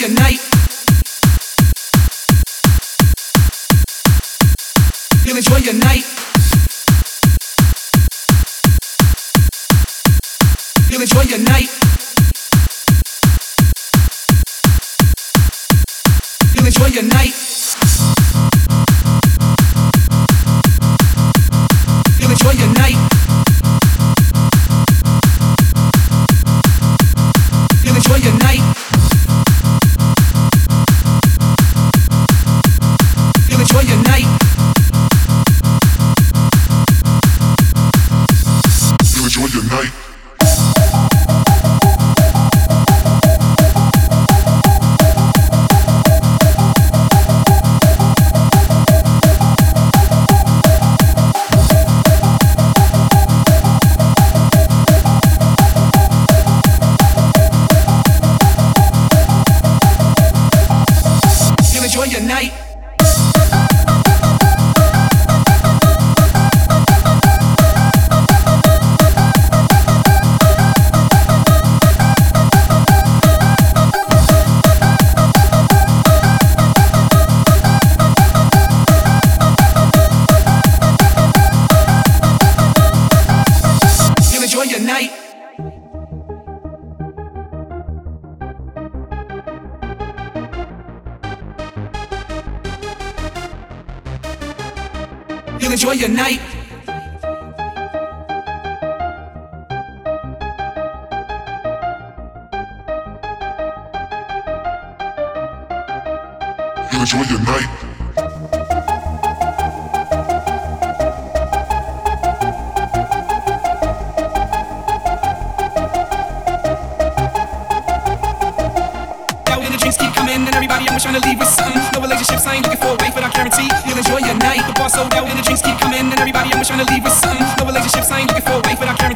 your night. You'll enjoy your night. You'll enjoy your night. You'll enjoy your night. You'll enjoy your night. You'll enjoy your night. You'll enjoy your night. You'll enjoy your night. Enjoy your night. You'll enjoy your night. You'll enjoy your night. You'll enjoy your night. Drinks keep coming and everybody always trying to leave with something. No relationships, I ain't looking for a wife, but I guarantee you'll enjoy your night. The bar sold out and the drinks keep coming and everybody always trying to leave with something. No relationships, I ain't looking for a wife, but I guarantee